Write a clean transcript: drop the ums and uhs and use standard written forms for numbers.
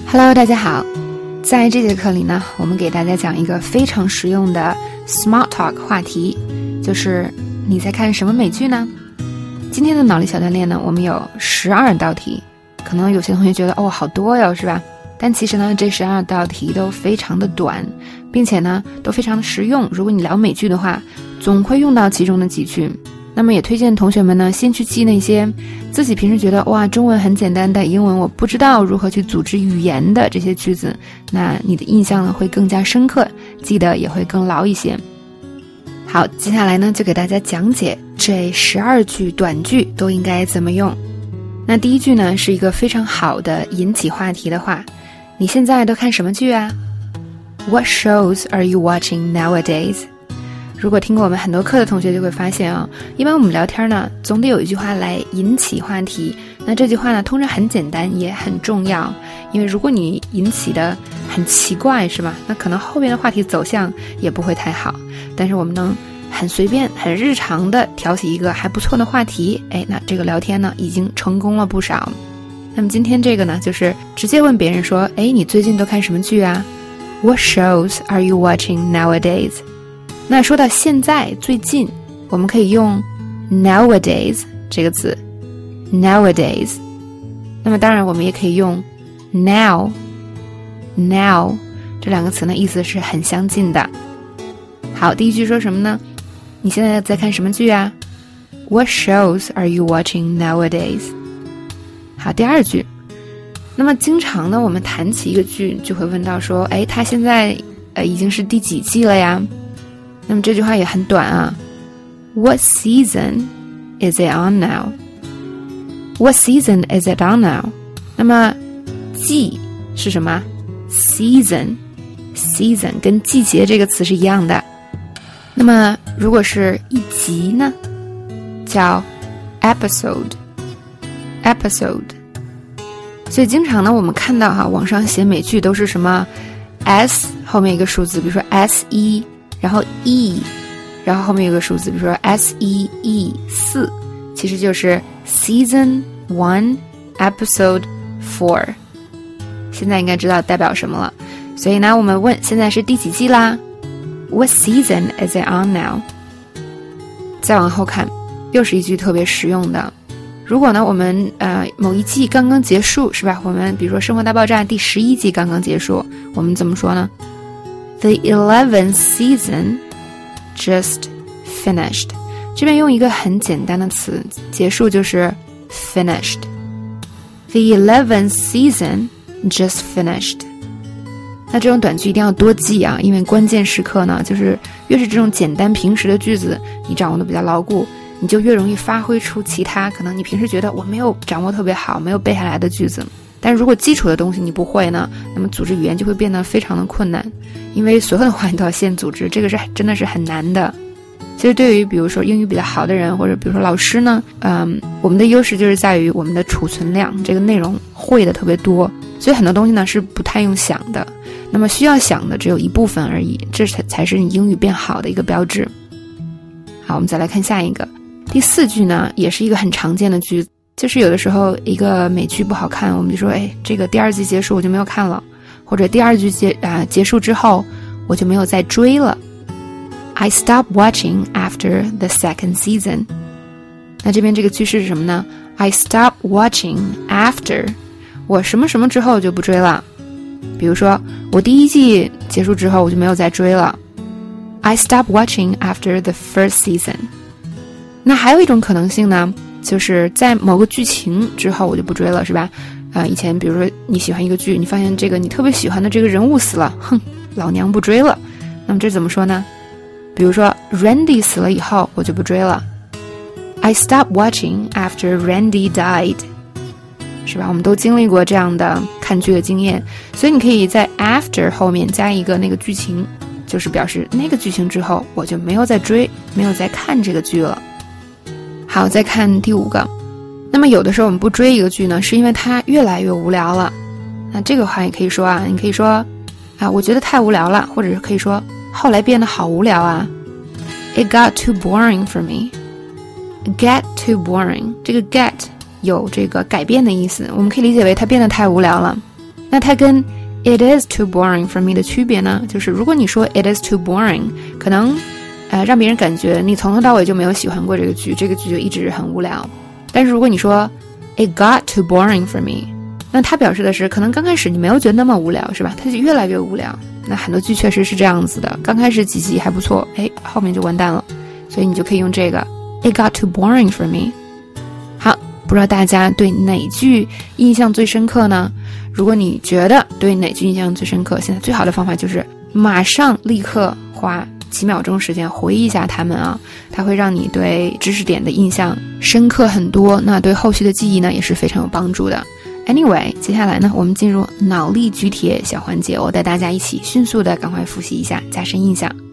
Hello， 大家好。在这节课里呢，我们给大家讲一个非常实用的 Small Talk 话题，就是你在看什么美剧呢？今天的脑力小锻炼呢，我们有12道题。可能有些同学觉得好多哟，是吧？但其实呢，这12道题都非常的短，并且呢，都非常的实用。如果你聊美剧的话，总会用到其中的几句。那么也推荐同学们呢，先去记那些自己平时觉得中文很简单，但英文我不知道如何去组织语言的这些句子，那你的印象呢会更加深刻，记得也会更牢一些。好，接下来呢就给大家讲解这12句短句都应该怎么用。那第一句呢是一个非常好的引起话题的话，你现在都看什么剧啊？ What shows are you watching nowadays？如果听过我们很多课的同学就会发现一般我们聊天呢，总得有一句话来引起话题。那这句话呢，通常很简单，也很重要。因为如果你引起的很奇怪，是吧？那可能后边的话题走向也不会太好。但是我们能很随便、很日常的挑起一个还不错的话题，那这个聊天呢，已经成功了不少。那么今天这个呢，就是直接问别人说，你最近都看什么剧啊？ What shows are you watching nowadays？那说到现在最近，我们可以用 nowadays 这个字 nowadays。 那么当然我们也可以用 now 这两个词呢，意思是很相近的。好，第一句说什么呢？你现在在看什么剧啊？ What shows are you watching nowadays？ 好，第二句，那么经常呢我们谈起一个剧就会问到说，它现在已经是第几季了呀？那么这句话也很短啊。What season is it on now? What season is it on now? 那么季是什么？ Season 跟季节这个词是一样的。那么如果是一集呢，叫 episode。 所以经常呢我们看到网上写美剧都是什么 S 后面一个数字，比如说 S1然后 E， 然后后面有个数字，比如说 SEE4， 其实就是 Season 1 Episode 4。 现在应该知道代表什么了。所以呢我们问现在是第几季啦？ What season is it on now？ 再往后看，又是一句特别实用的。如果呢我们某一季刚刚结束，是吧？我们比如说《生活大爆炸》第11季刚刚结束，我们怎么说呢？ The 11th season just finished。 这边用一个很简单的词，结束就是 finished。 The 11th season just finished。 那这种短句一定要多记啊，因为关键时刻呢，就是越是这种简单平时的句子你掌握的比较牢固，你就越容易发挥出其他可能你平时觉得我没有掌握特别好，没有背下来的句子。但如果基础的东西你不会呢，那么组织语言就会变得非常的困难，因为所有的话你都要先组织，这个是真的是很难的。其实对于比如说英语比较好的人，或者比如说老师呢，我们的优势就是在于我们的储存量，这个内容会的特别多，所以很多东西呢是不太用想的，那么需要想的只有一部分而已，这才是你英语变好的一个标志。好，我们再来看下一个。第4句呢也是一个很常见的句子，就是有的时候一个美剧不好看，我们就说这个第2季结束我就没有看了，或者第2季结束之后我就没有再追了。 I stopped watching after the second season。 那这边这个句式是什么呢？ I stopped watching after， 我什么什么之后就不追了。比如说我第1季结束之后我就没有再追了。 I stopped watching after the first season。 那还有一种可能性呢，就是在某个剧情之后我就不追了，是吧？以前比如说你喜欢一个剧，你发现这个你特别喜欢的这个人物死了，老娘不追了。那么这怎么说呢？比如说 Randy 死了以后我就不追了。 I stopped watching after Randy died。 是吧？我们都经历过这样的看剧的经验，所以你可以在 after 后面加一个那个剧情，就是表示那个剧情之后我就没有再追，没有再看这个剧了。好，再看第5个。那么有的时候我们不追一个剧呢，是因为它越来越无聊了。那这个话也可以说你可以说我觉得太无聊了，或者是可以说后来变得好无聊啊。It got too boring for me。 Get too boring， 这个 get 有这个改变的意思，我们可以理解为它变得太无聊了。那那它跟 It is too boring for me 的区别呢，就是如果你说 It is too boring， 可能让别人感觉你从头到尾就没有喜欢过这个剧，这个剧就一直很无聊。但是如果你说 It got too boring for me， 那它表示的是可能刚开始你没有觉得那么无聊，是吧？它就越来越无聊。那很多剧确实是这样子的，刚开始几集还不错，后面就完蛋了。所以你就可以用这个 It got too boring for me。 好，不知道大家对哪句印象最深刻呢？如果你觉得对哪句印象最深刻，现在最好的方法就是马上立刻花几秒钟时间回忆一下它们啊，它会让你对知识点的印象深刻很多，那对后续的记忆呢也是非常有帮助的。Anyway， 接下来呢我们进入脑力举铁小环节，我带大家一起迅速的赶快复习一下，加深印象。